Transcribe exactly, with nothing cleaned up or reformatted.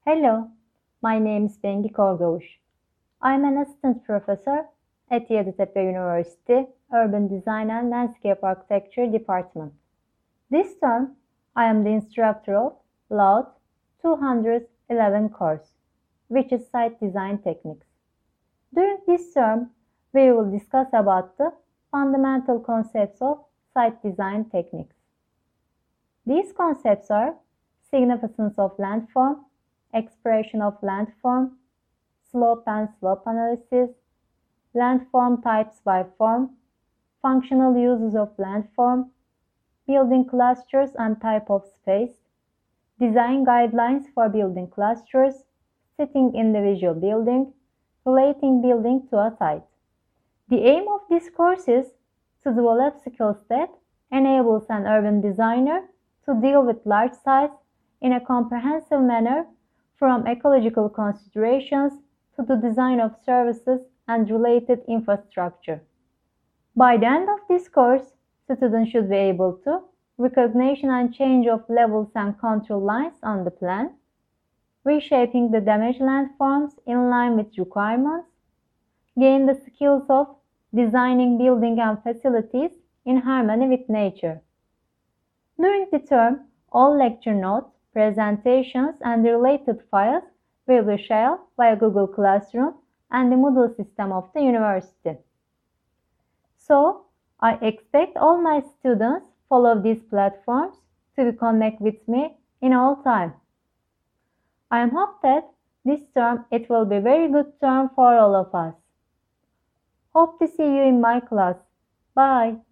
Hello, my name is Bengi Korgavuş. I'm an assistant professor at Yeditepe University Urban Design and Landscape Architecture Department. This term, I am the instructor of LAUD two hundred eleven course, which is Site Design Techniques. During this term, we will discuss about the fundamental concepts of site design techniques. These concepts are significance of landform, expression of landform, slope and slope analysis, landform types by form, functional uses of landform, building clusters and type of space, design guidelines for building clusters, setting individual building, relating building to a site. The aim of this course is to develop skills that enables an urban designer to deal with large sites in a comprehensive manner, from ecological considerations to the design of services and related infrastructure. By the end of this course, students should be able to recognition and change of levels and control lines on the plan, reshaping the damaged landforms in line with requirements, gain the skills of designing building and facilities in harmony with nature. During the term, all lecture notes, presentations, and the related files will be shared via Google Classroom and the Moodle system of the university. So, I expect all my students follow these platforms to connect with me in all time. I am hope that this term it will be very good term for all of us. Hope to see you in my class. Bye.